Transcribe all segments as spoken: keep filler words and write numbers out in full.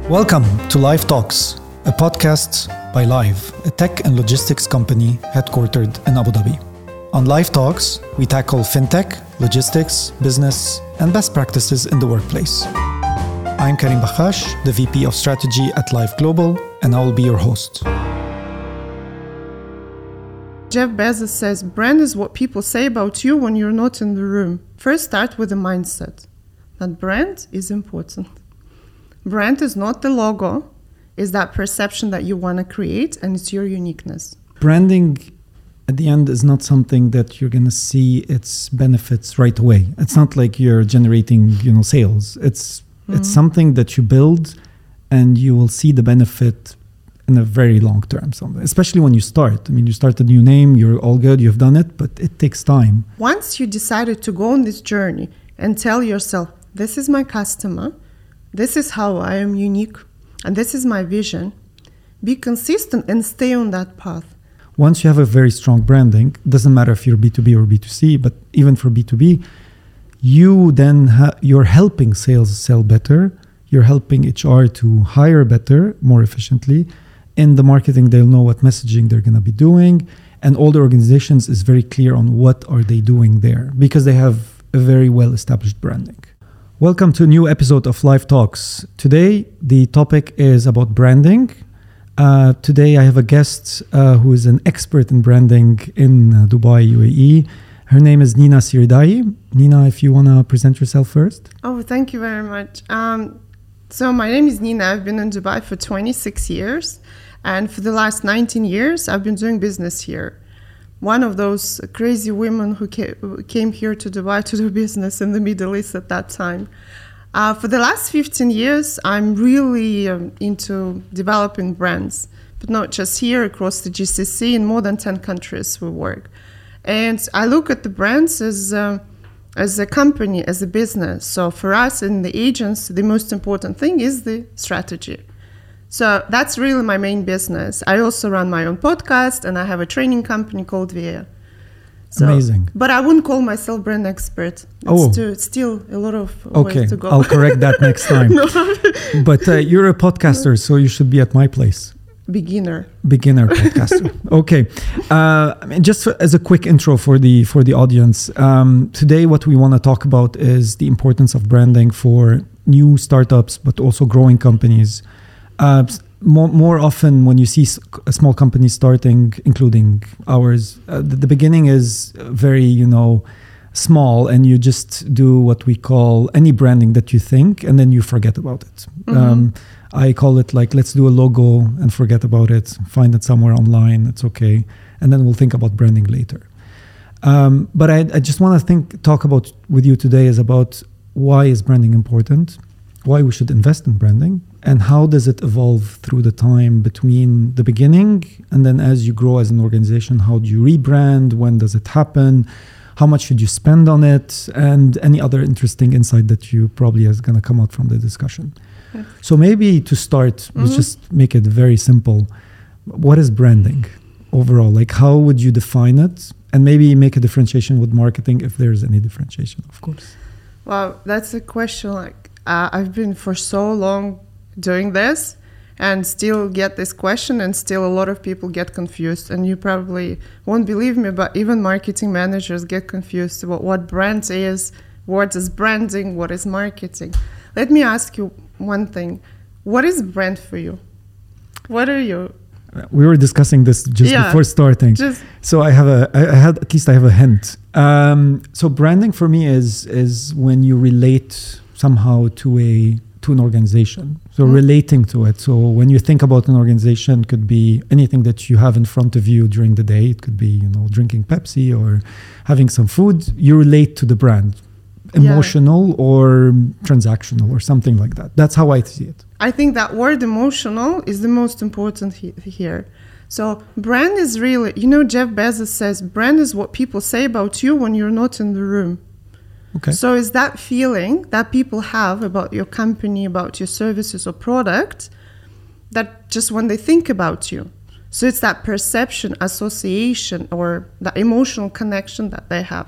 Welcome to Live Talks, a podcast by Live, a tech and logistics company headquartered in Abu Dhabi. On Live Talks, we tackle fintech, logistics, business, and best practices in the workplace. I'm Karim Bakhash, the V P of Strategy at Live Global, and I will be your host. Jeff Bezos says, brand is what people say about you when you're not in the room. First, start with the mindset that brand is important. Brand is not the logo, it's that perception that you want to create, and it's your uniqueness. Branding at the end is not something that you're going to see its benefits right away. It's not like you're generating, you know, sales. It's mm-hmm. it's something that you build and you will see the benefit in a very long term, so especially when you start. I mean, you start a new name, you're all good, you've done it, but it takes time. Once you decided to go on this journey and tell yourself, this is my customer, this is how I am unique, and this is my vision, be consistent and stay on that path. Once you have a very strong branding, doesn't matter if you're B two B or B two C, but even for B two B, you then ha- you're helping sales sell better, you're helping H R to hire better, more efficiently. In the marketing, they'll know what messaging they're going to be doing, and all the organizations is very clear on what are they doing there because they have a very well-established branding. Welcome to a new episode of Live Talks. Today, the topic is about branding. Uh, today, I have a guest uh, who is an expert in branding in uh, Dubai, U A E. Her name is Nina Siridai. Nina, if you want to present yourself first. Oh, thank you very much. Um, so my name is Nina. I've been in Dubai for twenty-six years. And for the last nineteen years, I've been doing business here. One of those crazy women who came here to Dubai to do business in the Middle East at that time. Uh, for the last fifteen years, I'm really um, into developing brands, but not just here, across the G C C, in more than ten countries we work. And I look at the brands as, uh, as a company, as a business. So for us in the agents, the most important thing is the strategy. So that's really my main business. I also run my own podcast and I have a training company called Via. So, Amazing. But I wouldn't call myself brand expert. It's oh. too, still a lot of okay. ways to go. I'll correct that next time. no. But uh, you're a podcaster, so you should be at my place. Beginner. Beginner podcaster. Okay. Uh, I mean, just for, as a quick intro for the for the audience, um, today what we want to talk about is the importance of branding for new startups, but also growing companies. Uh, more, more often when you see s- small companies starting, including ours, uh, the, the beginning is very, you know, small, and you just do what we call any branding that you think, and then you forget about it. Mm-hmm. Um, I call it like, let's do a logo and forget about it, find it somewhere online, it's okay, and then we'll think about branding later. Um, but I, I just want to think, talk about with you today is about why is branding important, why we should invest in branding, and how does it evolve through the time between the beginning and then as you grow as an organization, how do you rebrand, when does it happen, how much should you spend on it, and any other interesting insight that you probably is going to come out from the discussion. Yeah. So maybe to start, mm-hmm. let's just make it very simple. What is branding overall? Like, how would you define it? And maybe make a differentiation with marketing if there's any differentiation, of course. Well, that's a question like, Uh, I've been for so long doing this and still get this question, and still a lot of people get confused. And you probably won't believe me, but even marketing managers get confused about what brand is, what is branding, what is marketing. Let me ask you one thing. What is brand for you? What are you? We were discussing this just yeah, before starting. Just so I have a, I had, at least I have a hint. Um, so branding for me is is when you relate somehow to a to an organization, so mm-hmm. relating to it. So when you think about an organization, it could be anything that you have in front of you during the day. It could be, you know, drinking Pepsi or having some food. You relate to the brand, emotional yeah. or transactional or something like that. That's how I see it. I think that word emotional is the most important he- here. So brand is really, you know, Jeff Bezos says, brand is what people say about you when you're not in the room. Okay. So it's that feeling that people have about your company, about your services or product, that just when they think about you. So it's that perception, association, or that emotional connection that they have.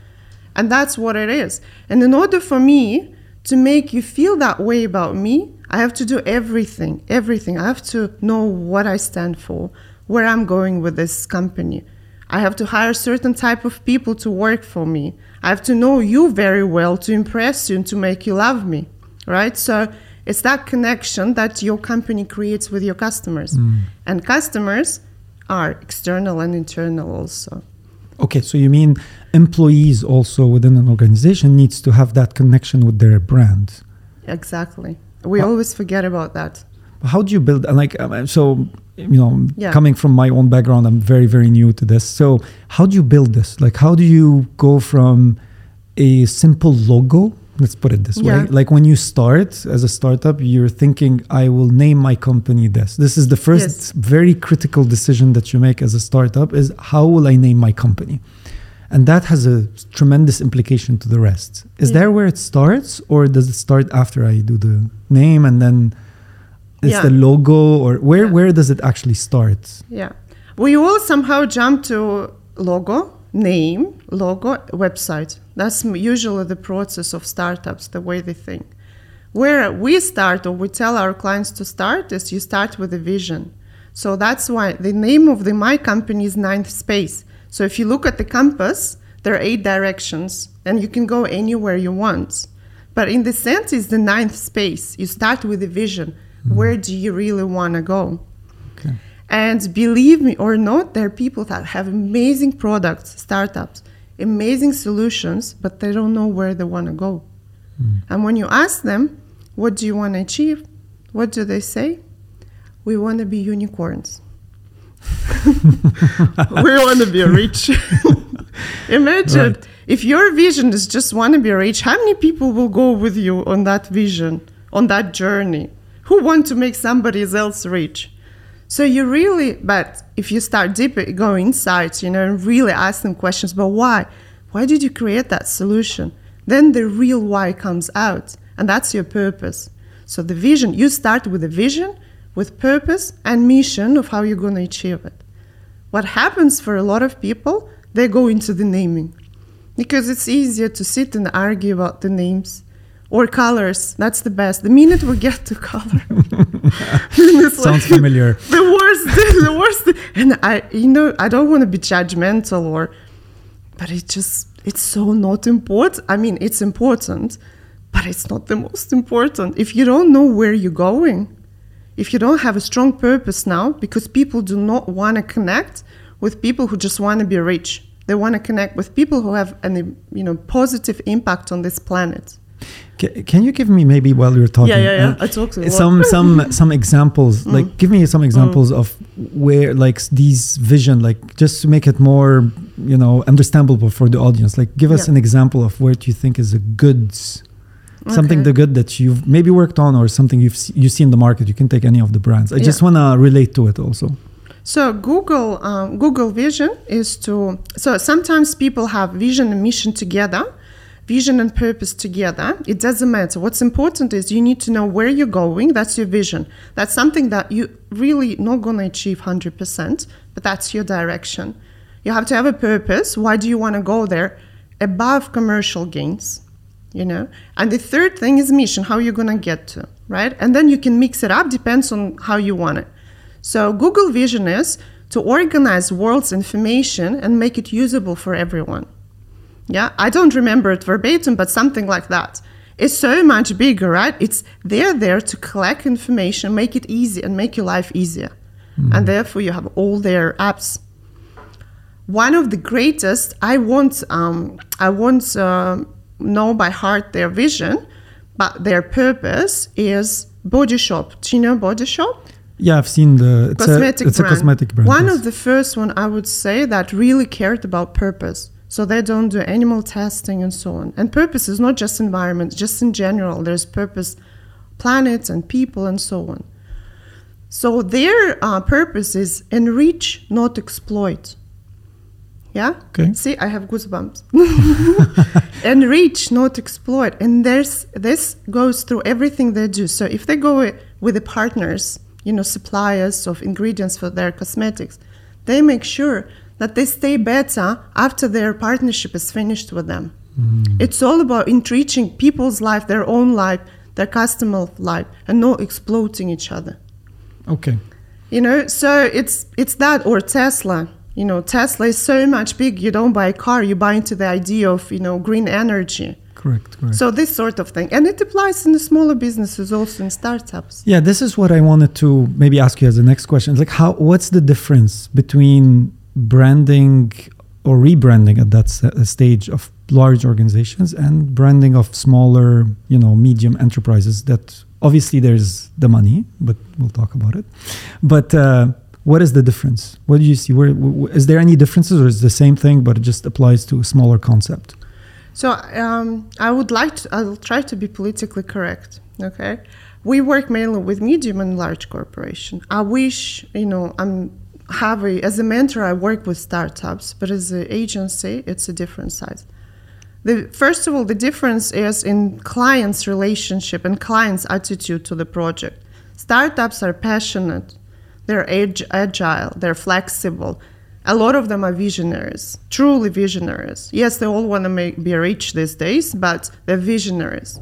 And that's what it is. And in order for me to make you feel that way about me, I have to do everything, everything. I have to know what I stand for, where I'm going with this company. I have to hire certain type of people to work for me. I have to know you very well to impress you and to make you love me, right? So it's that connection that your company creates with your customers. Mm. And customers are external and internal also. Okay, so you mean employees also within an organization needs to have that connection with their brand. Exactly. We how, always forget about that. How do you build, like, so, you know, yeah. coming from my own background, I'm very, very new to this. So how do you build this? Like, how do you go from a simple logo, let's put it this yeah. way, like when you start as a startup, you're thinking, I will name my company this. This is the first yes. very critical decision that you make as a startup is, how will I name my company? And that has a tremendous implication to the rest. Is yeah. there where it starts, or does it start after I do the name and then it's yeah. the logo, or where, yeah. where does it actually start? Yeah. We all somehow jump to logo, name, logo, website. That's usually the process of startups, the way they think. Where we start, or we tell our clients to start, is you start with a vision. So that's why the name of the my company is Ninth Space. So if you look at the compass, there are eight directions, and you can go anywhere you want. But in the sense, it's the ninth space. You start with a vision. Mm-hmm. Where do you really want to go? Okay. And believe me or not, there are people that have amazing products, startups, amazing solutions, but they don't know where they want to go. Mm. And when you ask them, what do you want to achieve? What do they say? We want to be unicorns. We want to be rich. Imagine right. if your vision is just want to be rich, how many people will go with you on that vision, on that journey? Who want to make somebody else rich? So you really, but if you start deeper, go inside, you know, and really ask them questions, but why? Why did you create that solution? Then the real why comes out, and that's your purpose. So the vision, you start with a vision, with purpose and mission of how you're going to achieve it. What happens for a lot of people, they go into the naming because it's easier to sit and argue about the names or colors. That's the best. The minute we get to color, sounds like familiar. The worst, the worst. And I, you know, I don't want to be judgmental or, but it just, it's so not important. I mean, it's important, but it's not the most important. If you don't know where you're going, if you don't have a strong purpose now, because people do not want to connect with people who just want to be rich. They want to connect with people who have an, you know, positive impact on this planet. Can, can you give me maybe while you're talking? Yeah, yeah, yeah. Uh, I talk to some some some examples. Mm. Like, give me some examples mm. of where, like, these vision, like, just to make it more, you know, understandable for the audience. Like, give us yeah. an example of where you think is a good. Something okay. the good that you've maybe worked on, or something you've you see in the market. You can take any of the brands. I yeah. just want to relate to it also. So Google um, Google Vision is to, so sometimes people have vision and mission together, vision and purpose together. It doesn't matter. What's important is you need to know where you're going. That's your vision. That's something that you really not going to achieve one hundred percent, but that's your direction. You have to have a purpose. Why do you want to go there? Above commercial gains. You know, and the third thing is mission, how you're going to get to, right? And then you can mix it up, depends on how you want it. So Google Vision is to organize world's information and make it usable for everyone. Yeah, I don't remember it verbatim, but something like that. It's so much bigger, right? It's they're there to collect information, make it easy and make your life easier. Mm. And therefore you have all their apps. One of the greatest, I want, um, I want, uh, know by heart their vision, but their purpose is Body Shop. Do you know Body Shop? Yeah, I've seen the it's, cosmetic a, it's a cosmetic brand. One yes. of the first one I would say that really cared about purpose. So they don't do animal testing and so on. And purpose is not just environment, just in general. There's purpose, planets and people and so on. So their uh, purpose is enrich, not exploit. Yeah? Okay. See, I have goosebumps. Enrich, not exploit. And there's this goes through everything they do. So if they go with the partners, you know, suppliers of ingredients for their cosmetics, they make sure that they stay better after their partnership is finished with them. Mm. It's all about enriching people's life, their own life, their customer life, and not exploiting each other. Okay. You know, so it's it's that, or Tesla. You know, Tesla is so much big. You don't buy a car, you buy into the idea of, you know, green energy. Correct, correct. So this sort of thing. And it applies in the smaller businesses, also in startups. Yeah, this is what I wanted to maybe ask you as the next question. It's like, how? What's the difference between branding or rebranding at that s- stage of large organizations and branding of smaller, you know, medium enterprises? That obviously there's the money, but we'll talk about it. But uh, what is the difference? What do you see? Where, w- is there any differences, or is it the same thing, but it just applies to a smaller concept? So um, I would like to, I'll try to be politically correct, okay? We work mainly with medium and large corporation. I wish, you know, I'm have a, as a mentor, I work with startups, but as an agency, it's a different size. The, first of all, the difference is in client's relationship and client's attitude to the project. Startups are passionate, they're ag- agile, they're flexible. A lot of them are visionaries, truly visionaries. Yes, they all want to make, be rich these days, but they're visionaries.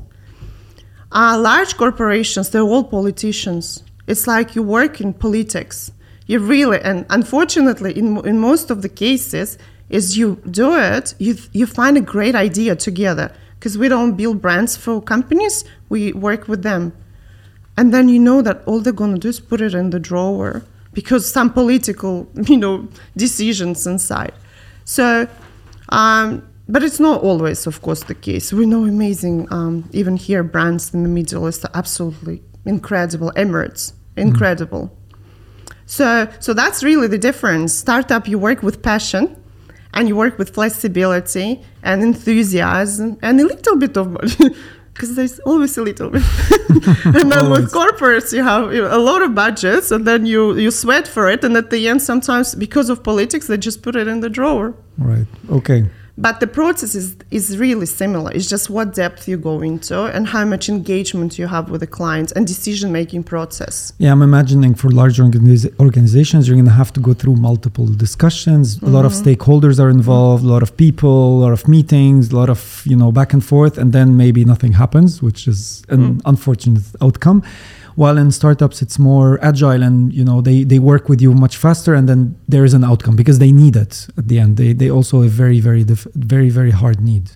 Uh, large corporations, they're all politicians. It's like you work in politics. You really, and unfortunately, in in most of the cases, is you do it, you you find a great idea together. Because we don't build brands for companies, we work with them. And then you know that all they're going to do is put it in the drawer, because some political, you know, decisions inside. So, um, but it's not always, of course, the case. We know amazing, um, even here, brands in the Middle East are absolutely incredible. Emirates, incredible. Mm. So, so that's really the difference. Startup, you work with passion, and you work with flexibility and enthusiasm, and a little bit of money. Because there's always a little bit. And then with corporates, you have you know, a lot of budgets, and then you, you sweat for it. And at the end, sometimes because of politics, they just put it in the drawer. Right. Okay. But the process is, is really similar. It's just what depth you go into and how much engagement you have with the clients and decision-making process. Yeah, I'm imagining for large organiz- organizations, you're going to have to go through multiple discussions. Mm-hmm. A lot of stakeholders are involved, mm-hmm. a lot of people, a lot of meetings, a lot of, you know, back and forth, and then maybe nothing happens, which is an mm-hmm. unfortunate outcome. While in startups, it's more agile, and you know they, they work with you much faster, and then there is an outcome because they need it at the end. They they also have very very dif- very very hard need.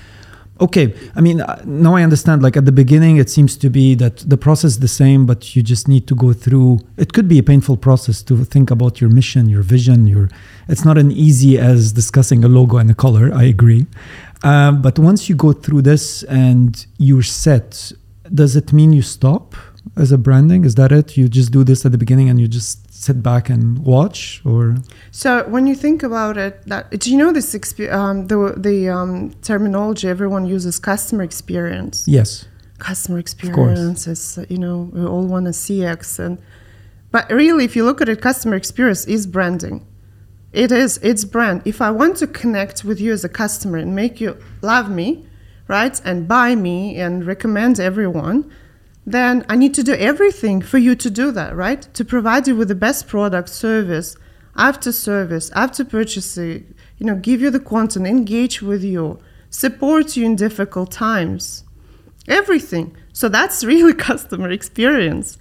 Okay, I mean now I understand. Like at the beginning, it seems to be that the process is the same, but you just need to go through. It could be a painful process to think about your mission, your vision. Your it's not as easy as discussing a logo and a color. I agree, uh, but once you go through this and you're set, does it mean you stop as a branding? Is that it? You just do this at the beginning and you just sit back and watch, or? So when you think about it, that do you know this exp- um, the the um, terminology everyone uses, customer experience? Yes. Customer experience is, you know, we all want a C X, and but really, if you look at it, customer experience is branding. It is. It's brand. If I want to connect with you as a customer and make you love me, right, and buy me and recommend everyone, then I need to do everything for you to do that, right? To provide you with the best product, service, after service, after purchasing, you know, give you the content, engage with you, support you in difficult times, everything. So that's really customer experience.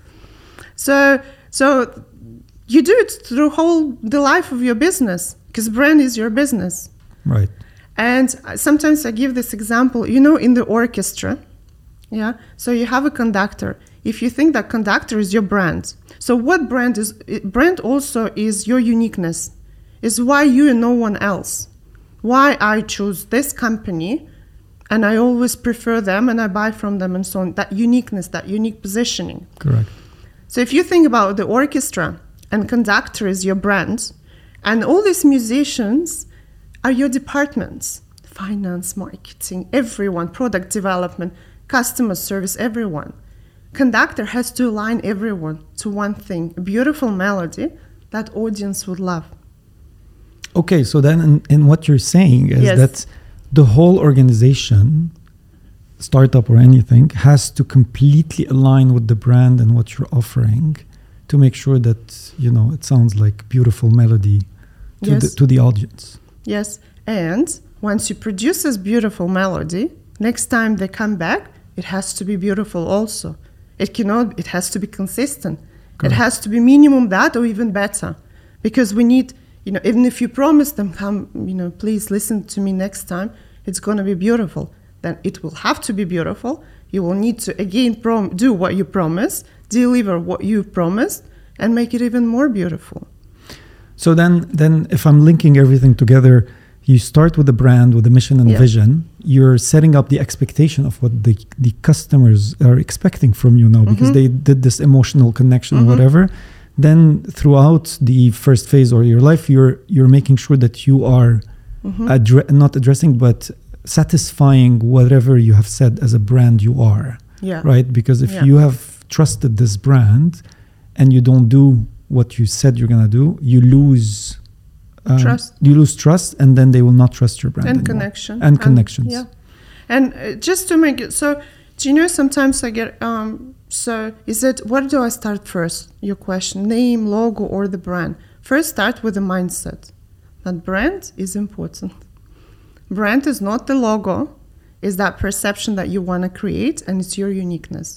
So, so you do it through whole the life of your business, because brand is your business. Right. And sometimes I give this example, you know, in the orchestra. Yeah. So you have a conductor. If you think that conductor is your brand, so what brand is? Brand also is your uniqueness. Is why you and no one else. Why I choose this company, and I always prefer them, and I buy from them, and so on. That uniqueness, that unique positioning. Correct. So if you think about the orchestra, and conductor is your brand, and all these musicians are your departments: finance, marketing, everyone, product development, customer service, everyone. Conductor has to align everyone to one thing, a beautiful melody that audience would love. Okay, so then in, in what you're saying is yes. that the whole organization, startup or anything, has to completely align with the brand and what you're offering to make sure that, you know, it sounds like beautiful melody to, yes. the, to the audience. Yes, and once you produce this beautiful melody, next time they come back, it has to be beautiful also. It cannot, it has to be consistent. Correct. It has to be minimum that or even better. Because we need, you know, even if you promise them, come, you know, please listen to me next time, it's going to be beautiful. Then it will have to be beautiful. You will need to, again, prom- do what you promised, deliver what you promised, and make it even more beautiful. So then, then if I'm linking everything together, you start with the brand, with the mission and Yeah. vision. You're setting up the expectation of what the, the customers are expecting from you now, because Mhm. they did this emotional connection or Mhm. whatever. Then throughout the first phase or your life, you're you're making sure that you are Mhm. addre- not addressing, but satisfying whatever you have said as a brand you are, Yeah. right? Because if Yeah. you have trusted this brand and you don't do what you said you're going to do, you lose um, Trust. You lose trust, and then they will not trust your brand And anymore. connection. And connections. Yeah. And uh, just to make it, so, do you know, sometimes I get, um, so is it, what do I start first? Your question, name, logo, or the brand? First, start with the mindset that brand is important. Brand is not the logo, is that perception that you want to create, and it's your uniqueness.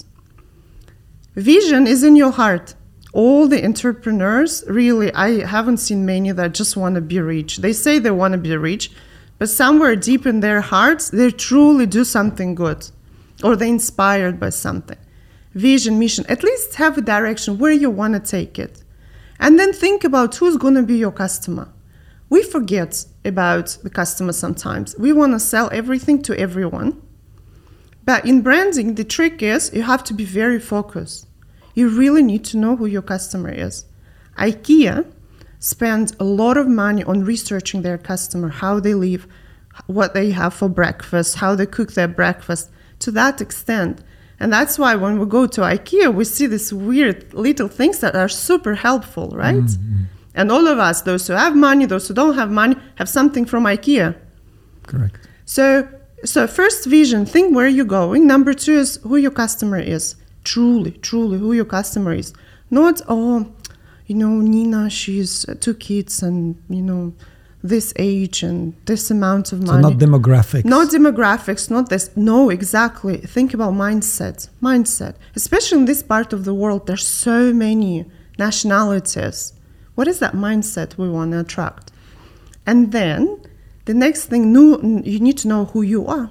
Vision is in your heart. All the entrepreneurs, really, I haven't seen many that just want to be rich. They say they want to be rich, but somewhere deep in their hearts, they truly do something good, or they're inspired by something. Vision, mission, at least have a direction where you want to take it. And then think about who's going to be your customer. We forget about the customer sometimes. We want to sell everything to everyone. But in branding, the trick is you have to be very focused. You really need to know who your customer is. IKEA spends a lot of money on researching their customer, how they live, what they have for breakfast, how they cook their breakfast, to that extent. And that's why when we go to IKEA, we see these weird little things that are super helpful, right? Mm-hmm. And all of us, those who have money, those who don't have money, have something from IKEA. Correct. So, so first vision, think where you're going. Number two is who your customer is. Truly, truly who your customer is. Not, oh, you know, Nina, she's two kids and, you know, this age and this amount of money. So not demographics. Not demographics, not this. No, exactly. Think about mindset. Mindset. Especially in this part of the world, there's so many nationalities. What is that mindset we want to attract? And then the next thing, you need to know who you are.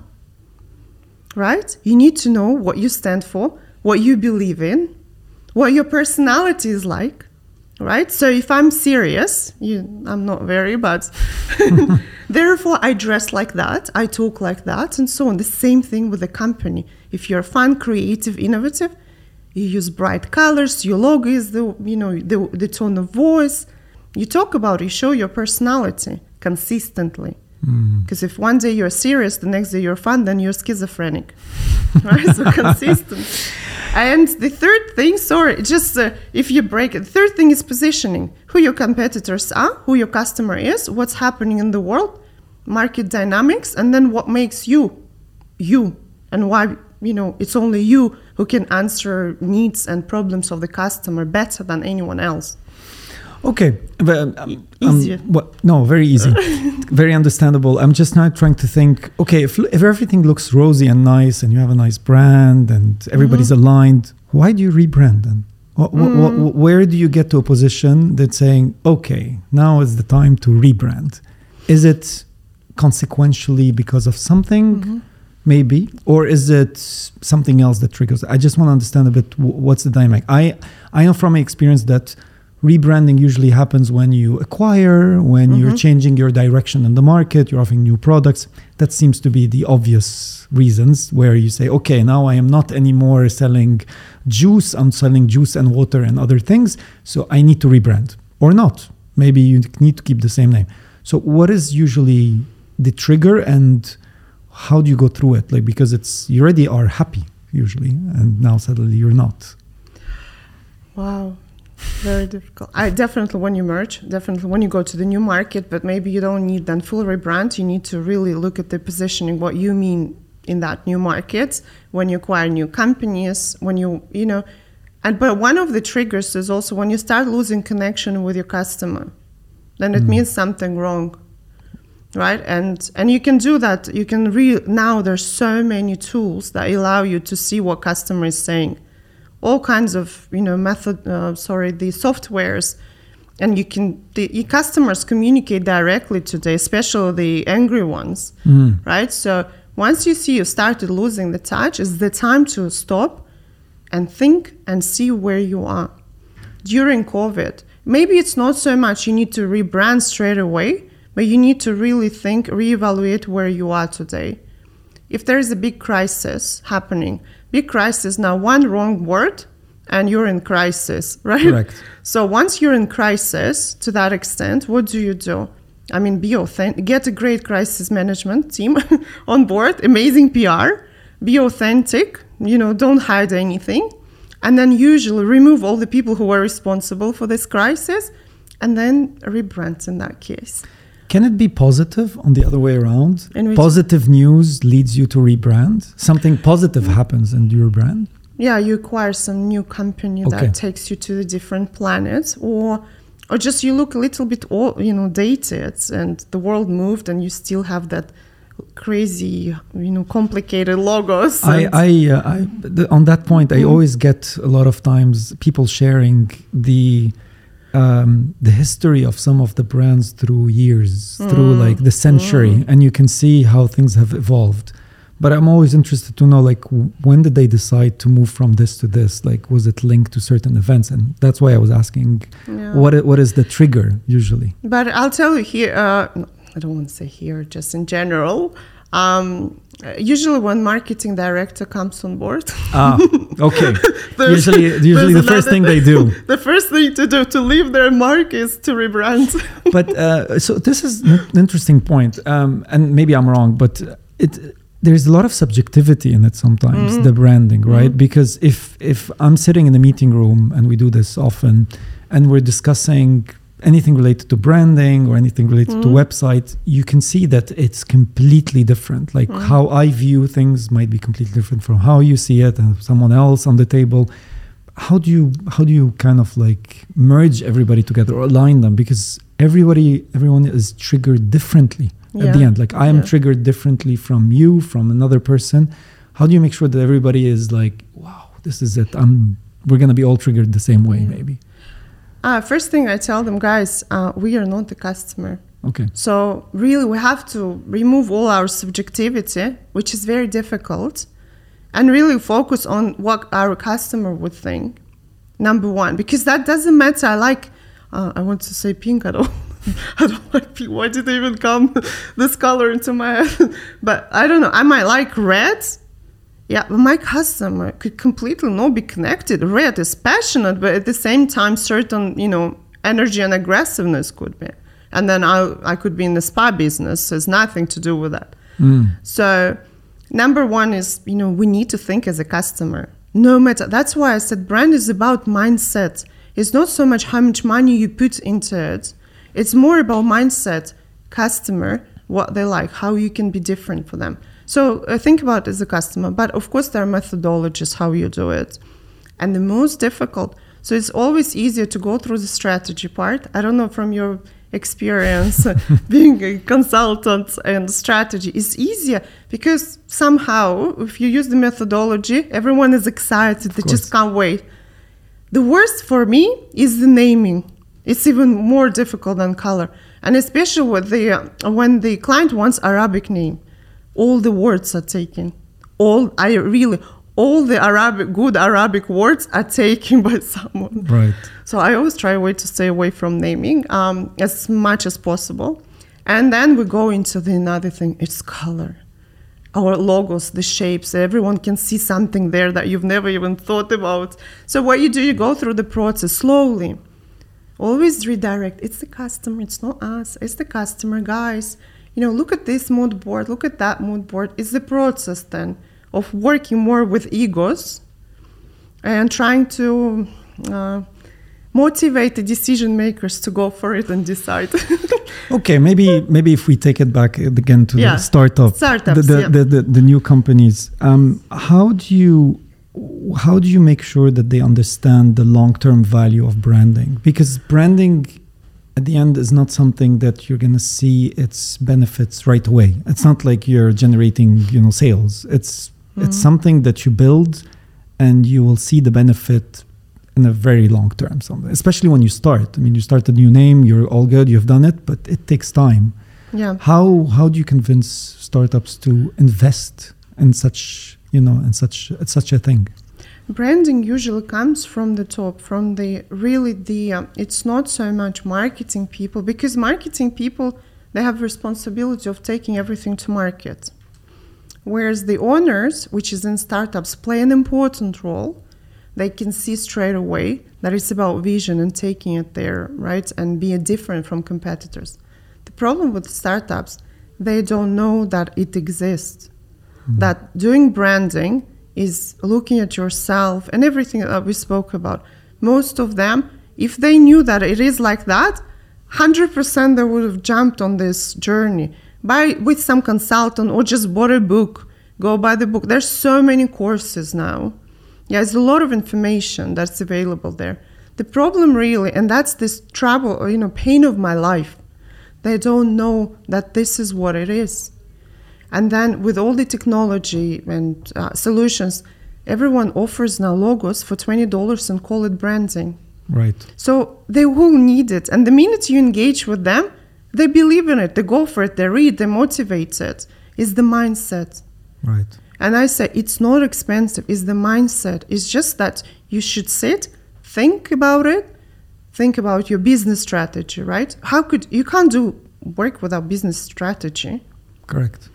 Right? You need to know what you stand for, what you believe in, what your personality is like, right? So if I'm serious, you, I'm not very, but therefore I dress like that, I talk like that, and so on. The same thing with the company. If you're fun, creative, innovative, you use bright colors, your logo is the, you know, the, the tone of voice. You talk about it, you show your personality consistently. Because mm. if one day you're serious, the next day you're fun, then you're schizophrenic, right? So consistent. And the third thing, sorry, just uh, if you break it, the third thing is positioning. Who your competitors are, who your customer is, what's happening in the world, market dynamics, and then what makes you, you, and why, you know, it's only you who can answer needs and problems of the customer better than anyone else. Okay, but um, easier. Um, well, no, very easy, very understandable. I'm just now trying to think. Okay, if if everything looks rosy and nice, and you have a nice brand, and everybody's mm-hmm. aligned, why do you rebrand then? What, mm. what, what, where do you get to a position that's saying, okay, now is the time to rebrand? Is it consequentially because of something, mm-hmm. maybe, or is it something else that triggers? I just want to understand a bit w- what's the dynamic. I I know from my experience that rebranding usually happens when you acquire, when mm-hmm. you're changing your direction in the market, you're offering new products. That seems to be the obvious reasons where you say, okay, now I am not anymore selling juice, I'm selling juice and water and other things, so I need to rebrand. Or not. Maybe you need to keep the same name. So what is usually the trigger and how do you go through it? Like, because it's, you already are happy usually, and now suddenly you're not. Wow. Very difficult. I definitely when you merge, definitely when you go to the new market, but maybe you don't need then full rebrand. You need to really look at the positioning, what you mean in that new market, when you acquire new companies, when you, you know, and but one of the triggers is also when you start losing connection with your customer, then it mm. means something wrong. right? And and you can do that. You can re now there's so many tools that allow you to see what customer is saying, all kinds of you know method. Uh, sorry, the softwares, and you can the your customers communicate directly today, especially the angry ones, Mm. right? So once you see you started losing the touch, it's the time to stop and think and see where you are during COVID. Maybe it's not so much you need to rebrand straight away, but you need to really think, reevaluate where you are today. If there is a big crisis happening, big crisis, now one wrong word and you're in crisis, right? Correct. So once you're in crisis to that extent, what do you do? I mean, be authentic, get a great crisis management team on board, amazing P R, be authentic, you know, don't hide anything. And then usually remove all the people who were responsible for this crisis and then rebrand in that case. Can it be positive on the other way around? In which- Positive news leads you to rebrand? Something positive happens and you rebrand? Yeah, you acquire some new company Okay. that takes you to a different planet, or or just you look a little bit old, you know, dated, and the world moved and you still have that crazy, you know, complicated logos. I, and- I, uh, I the, on that point, I always get a lot of times people sharing the um, the history of some of the brands through years, through like the century, and you can see how things have evolved. But I'm always interested to know, like, w- when did they decide to move from this to this? Like, was it linked to certain events? And that's why I was asking, Yeah. what i- what is the trigger usually? But I'll tell you here, uh, no, I don't want to say here, just in general. Um, usually when marketing director comes on board, Ah, okay. there's- usually, usually there's the first another thing they do. the first thing to do to leave their mark is to rebrand. But uh, so this is an interesting point, um, and maybe I'm wrong, but it there's a lot of subjectivity in it sometimes, Mm-hmm. the branding, right? Because if if I'm sitting in a meeting room, and we do this often, and we're discussing anything related to branding or anything related to website, you can see that it's completely different. Like how I view things might be completely different from how you see it and someone else on the table. How do you how do you kind of like merge everybody together or align them? Because everybody everyone is triggered differently at the Yeah. end. Like I am Yeah. triggered differently from you, from another person. How do you make sure that everybody is like, wow, this is it. I'm we're gonna be all triggered the same way, maybe. Uh, first thing I tell them, guys, uh, we are not the customer. Okay. So really we have to remove all our subjectivity, which is very difficult, and really focus on what our customer would think, number one, because that doesn't matter. I like, uh, I want to say pink, I don't, I don't like pink. Why did they even come this color into my head? But I don't know, I might like red. Yeah, but my customer could completely not be connected. Red is passionate, but at the same time, certain, you know, energy and aggressiveness could be. And then I I could be in the spa business, so it's nothing to do with that. Mm. So number one is, you know, we need to think as a customer. No matter, that's why I said brand is about mindset. It's not so much how much money you put into it. It's more about mindset, customer, what they like, how you can be different for them. So uh, think about it as a customer, but of course there are methodologies how you do it. And the most difficult, so it's always easier to go through the strategy part. I don't know from your experience being a consultant and strategy, it's easier because somehow if you use the methodology, everyone is excited, they just can't wait. The worst for me is the naming. It's even more difficult than color. And especially with the, uh, when the client wants Arabic name. All the words are taken. All I really, all the Arabic, good Arabic words are taken by someone. Right. So I always try a way to stay away from naming um, as much as possible. And then we go into the another thing, it's color. Our logos, the shapes, everyone can see something there that you've never even thought about. So what you do, you go through the process slowly. Always redirect. It's the customer, it's not us, it's the customer, guys. You know, look at this mood board, look at that mood board. It's the process then of working more with egos and trying to uh, motivate the decision makers to go for it and decide. Okay, maybe maybe if we take it back again to Yeah. the startup, Startups, the, the, yeah. the, the, the new companies. Um, how do you how do you make sure that they understand the long-term value of branding? Because branding at the end is not something that you're going to see its benefits right away. It's not like you're generating, you know, sales. It's mm-hmm. it's something that you build and you will see the benefit in a very long term, especially when you start. I mean, you start a new name, you're all good, you've done it, but it takes time. Yeah. How how do you convince startups to invest in such, you know, in such such a thing? Branding usually comes from the top, from the really the, um, it's not so much marketing people, because marketing people, they have responsibility of taking everything to market. Whereas the owners, which is in startups, play an important role. They can see straight away that it's about vision and taking it there, right? And be different from competitors. The problem with startups, they don't know that it exists. Mm-hmm. That doing branding is looking at yourself and everything that we spoke about. Most of them, if they knew that it is like that, one hundred percent they would have jumped on this journey by with some consultant or just bought a book, go buy the book. There's so many courses now. Yeah, there's a lot of information that's available there. The problem really, and that's this trouble, or, you know, pain of my life, they don't know that this is what it is. And then with all the technology and uh, solutions, everyone offers now logos for twenty dollars and call it branding. Right. So they will need it. And the minute you engage with them, they believe in it. They go for it. They read. They're motivated. It's the mindset. Right. And I say it's not expensive. It's the mindset. It's just that you should sit, think about it, think about your business strategy, right? How could you can't do work without business strategy. Correct.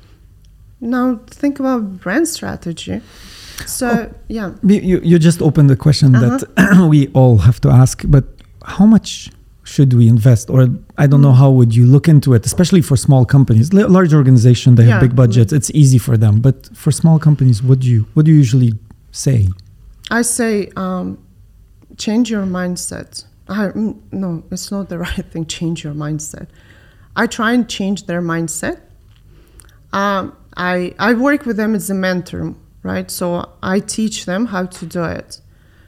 Now think about brand strategy. So oh, yeah, you you just opened the question uh-huh. that we all have to ask. But how much should we invest? Or I don't know, how would you look into it, especially for small companies? L- large organization, they have yeah. big budgets. It's easy for them. But for small companies, what do you what do you usually say? I say um, change your mindset. I, no, it's not the right thing. Change your mindset. I try and change their mindset. Um, I I work with them as a mentor, right? So I teach them how to do it.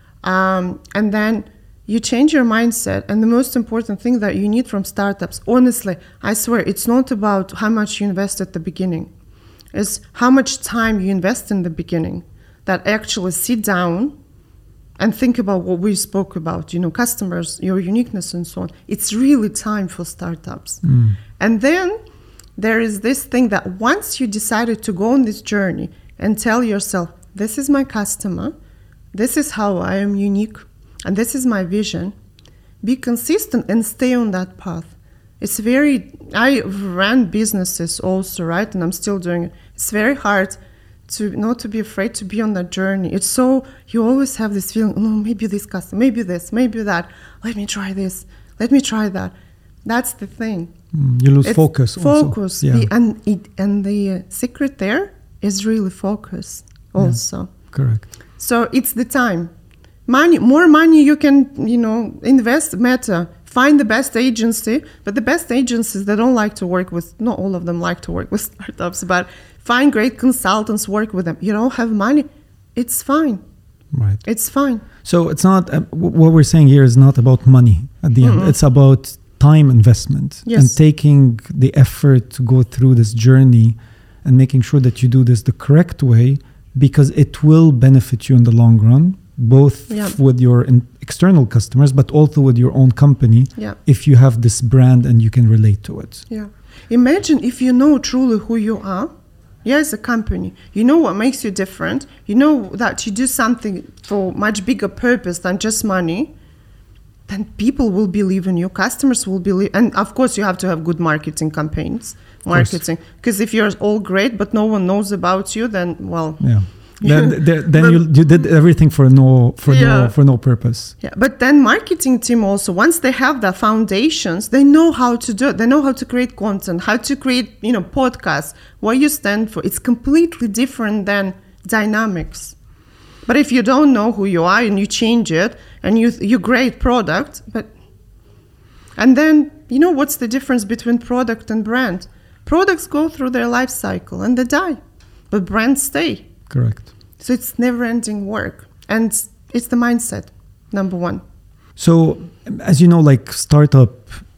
Um, and then you change your mindset. And the most important thing that you need from startups, honestly, I swear, it's not about how much you invest at the beginning. It's how much time you invest in the beginning, that actually sit down and think about what we spoke about, you know, customers, your uniqueness and so on. It's really time for startups. Mm. And then there is this thing that once you decided to go on this journey and tell yourself, this is my customer, this is how I am unique, and this is my vision, be consistent and stay on that path. It's very, I ran businesses also, right? And I'm still doing it. It's very hard to not to be afraid to be on that journey. It's so, you always have this feeling, no, maybe this customer, maybe this, maybe that. Let me try this. Let me try that. That's the thing. Mm, you lose it's focus. Focus. Also. Yeah. The, and, it, and the uh, secret there is really focus also. Yeah, correct. So it's the time. Money, more money you can, you know, invest, matter. Find the best agency, but the best agencies, they don't like to work with, not all of them like to work with startups, but find great consultants, work with them. You don't have money, it's fine. Right. It's fine. So it's not, uh, what we're saying here is not about money at the Mm-mm. end. It's about time investment yes. and taking the effort to go through this journey and making sure that you do this the correct way, because it will benefit you in the long run, both yeah. f- with your in- external customers, but also with your own company, yeah. if you have this brand and you can relate to it. Yeah. Imagine if you know truly who you are, yeah, as a company, you know what makes you different, you know that you do something for much bigger purpose than just money, then people will believe in you, customers will believe, and of course you have to have good marketing campaigns, marketing, because if you're all great but no one knows about you, then, well... Yeah. Then, then, then but, you you did everything for no for yeah. no for no purpose. Yeah, but then marketing team also, once they have the foundations, they know how to do it. They know how to create content, how to create, you know, podcasts, what you stand for. It's completely different than dynamics. But if you don't know who you are and you change it and you you great product, but and then you know what's the difference between product and brand? Products go through their life cycle and they die, but brands stay. Correct. So it's never-ending work, and it's the mindset, number one. So, as you know, like startup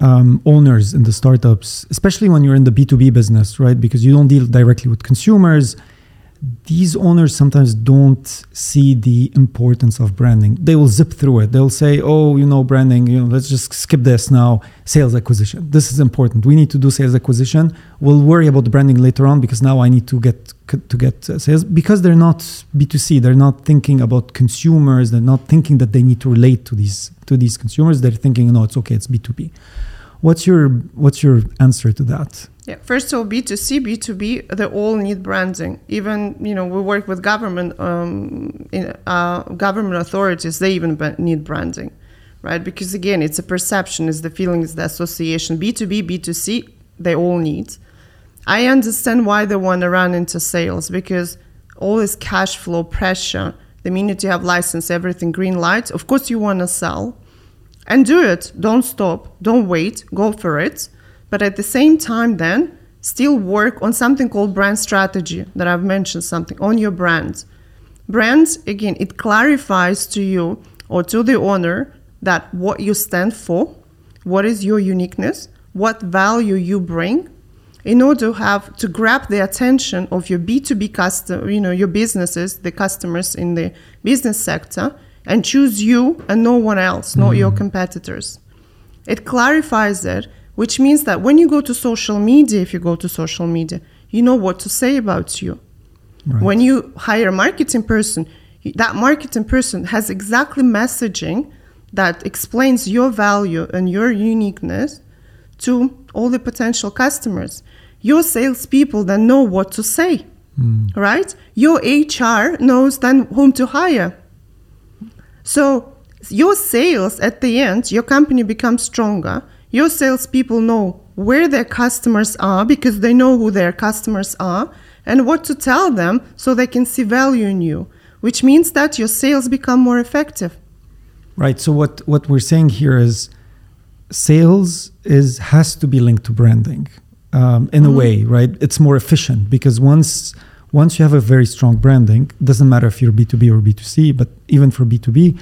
um, owners in the startups, especially when you're in the B two B business, right? Because you don't deal directly with consumers. These owners sometimes don't see the importance of branding. They will zip through it. They'll say, oh, you know, branding, you know, let's just skip this now. Sales acquisition. This is important. We need to do sales acquisition. We'll worry about the branding later on because now I need to get to get uh, sales. Because they're not B two C. They're not thinking about consumers. They're not thinking that they need to relate to these to these consumers. They're thinking, no, it's okay. It's B two B. What's your what's your answer to that? Yeah, first of all, B two C, B two B, they all need branding. Even, you know, we work with government um, in, uh, government authorities, they even need branding, right? Because again, it's a perception, it's the feeling, it's the association. B two B, B two C, they all need. I understand why they want to run into sales, because all this cash flow pressure, the minute you have license, everything green light, of course you want to sell. And do it. Don't stop. Don't wait. Go for it. But at the same time, then, still work on something called brand strategy that I've mentioned something, on your brand. Brand, again, it clarifies to you or to the owner that what you stand for, what is your uniqueness, what value you bring, in order to have to grab the attention of your B two B customer, you know, your businesses, the customers in the business sector, and choose you and no one else, mm-hmm. not your competitors. It clarifies it, which means that when you go to social media, if you go to social media, you know what to say about you. Right. When you hire a marketing person, that marketing person has exactly messaging that explains your value and your uniqueness to all the potential customers. Your salespeople then know what to say, mm. right? Your H R knows then whom to hire. So your sales, at the end, your company becomes stronger. Your salespeople know where their customers are because they know who their customers are and what to tell them so they can see value in you, which means that your sales become more effective. Right. So what, what we're saying here is sales is has to be linked to branding um, in mm-hmm. a way, right? It's more efficient because once once you have a very strong branding, it doesn't matter if you're B two B or B two C, but even for B two B,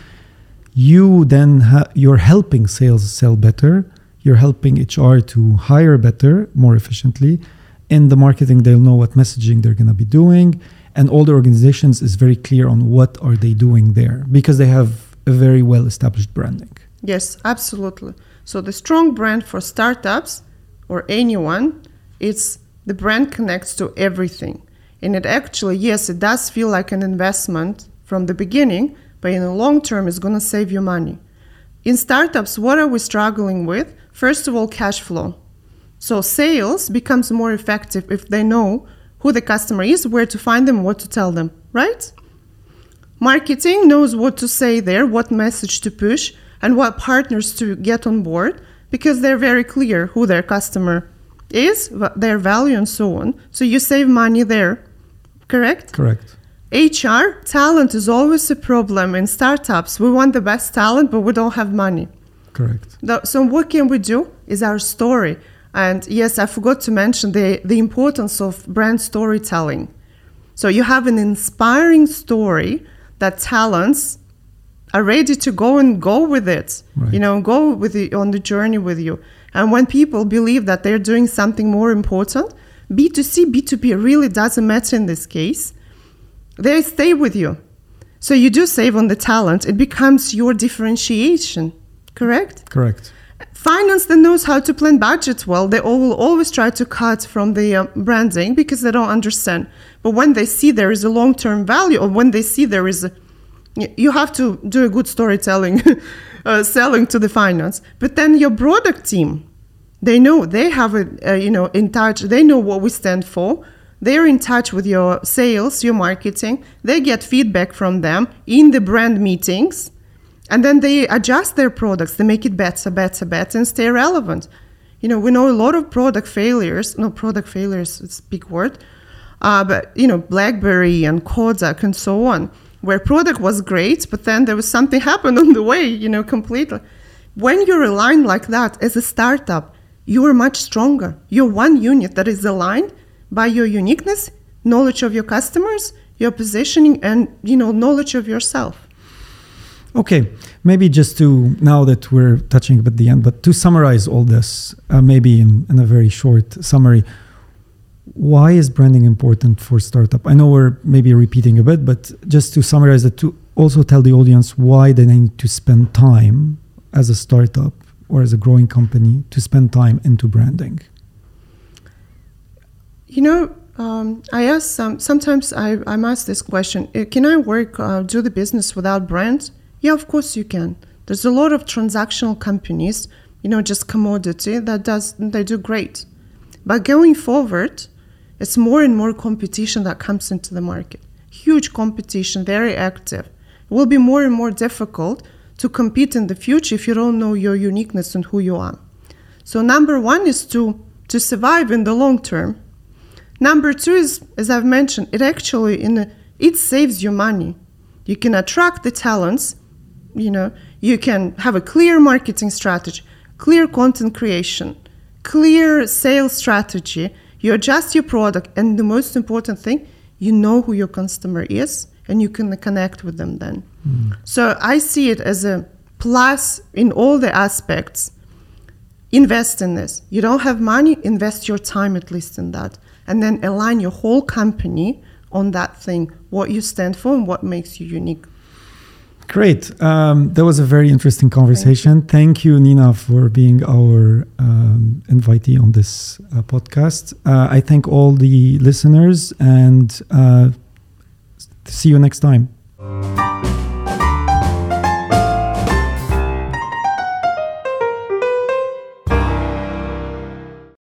you then ha- you're helping sales sell better. You're helping H R to hire better, more efficiently. In the marketing, they'll know what messaging they're going to be doing. And all the organizations is very clear on what are they doing there because they have a very well-established branding. Yes, absolutely. So the strong brand for startups or anyone, it's the brand connects to everything. And it actually, yes, it does feel like an investment from the beginning, but in the long term, it's going to save you money. In startups, what are we struggling with? First of all, cash flow. So sales becomes more effective if they know who the customer is, where to find them, what to tell them, right? Marketing knows what to say there, what message to push, and what partners to get on board, because they're very clear who their customer is, their value, and so on. So you save money there, correct? Correct. H R, talent is always a problem in startups. We want the best talent, but we don't have money. Correct. So what can we do is our story. And yes, I forgot to mention the, the importance of brand storytelling. So you have an inspiring story that talents are ready to go and go with it, right. you know, go with the, on the journey with you. And when people believe that they're doing something more important, B two C, B two B really doesn't matter in this case. They stay with you. So you do save on the talent. It becomes your differentiation, correct? Correct. Finance that knows how to plan budgets well, they all will always try to cut from the uh, branding because they don't understand. But when they see there is a long-term value, or when they see there is a, you have to do a good storytelling, uh, selling to the finance. But then your product team, they know, they have a, uh, you know, in touch, they know what we stand for. They're in touch with your sales, your marketing. They get feedback from them in the brand meetings. And then they adjust their products. They make it better, better, better, and stay relevant. You know, we know a lot of product failures. No, product failures, it's a big word. Uh, but, you know, BlackBerry and Kodak and so on, where product was great, but then there was something happened on the way, you know, completely. When you're aligned like that as a startup, you're much stronger. You're one unit that is aligned by your uniqueness, knowledge of your customers, your positioning, and, you know, knowledge of yourself. Okay, maybe just to, now that we're touching at the end, but to summarize all this, uh, maybe in, in a very short summary, why is branding important for startup? I know we're maybe repeating a bit, but just to summarize it, to also tell the audience why they need to spend time as a startup or as a growing company to spend time into branding. You know, um, I ask some, sometimes I, I'm asked this question, can I work, uh, do the business without brand? Yeah, of course you can. There's a lot of transactional companies, you know, just commodity that does, they do great. But going forward, it's more and more competition that comes into the market. Huge competition, very active. It will be more and more difficult to compete in the future if you don't know your uniqueness and who you are. So number one is to, to survive in the long term. Number two is, as I've mentioned, it actually, in a, it saves you money. You can attract the talents. You know, you can have a clear marketing strategy, clear content creation, clear sales strategy. You adjust your product, and the most important thing, you know who your customer is, and you can connect with them then. Mm. So I see it as a plus in all the aspects. Invest in this. You don't have money, invest your time at least in that, and then align your whole company on that thing, what you stand for and what makes you unique. Great. Um, that was a very interesting conversation. Thank you, Thank you Nina, for being our um, invitee on this uh, podcast. Uh, I thank all the listeners and uh, see you next time.